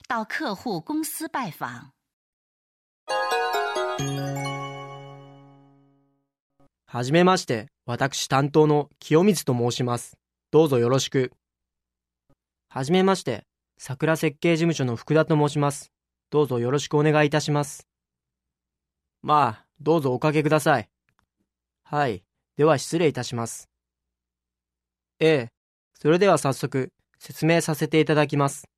到客户公司拜访。 はじめまして、私担当の清水と申します。どうぞよろしく。はじめまして、桜設計事務所の福田と申します。どうぞよろしくお願いいたします。まあ、どうぞおかけください。はい、では失礼いたします。それでは早速説明させていただきます。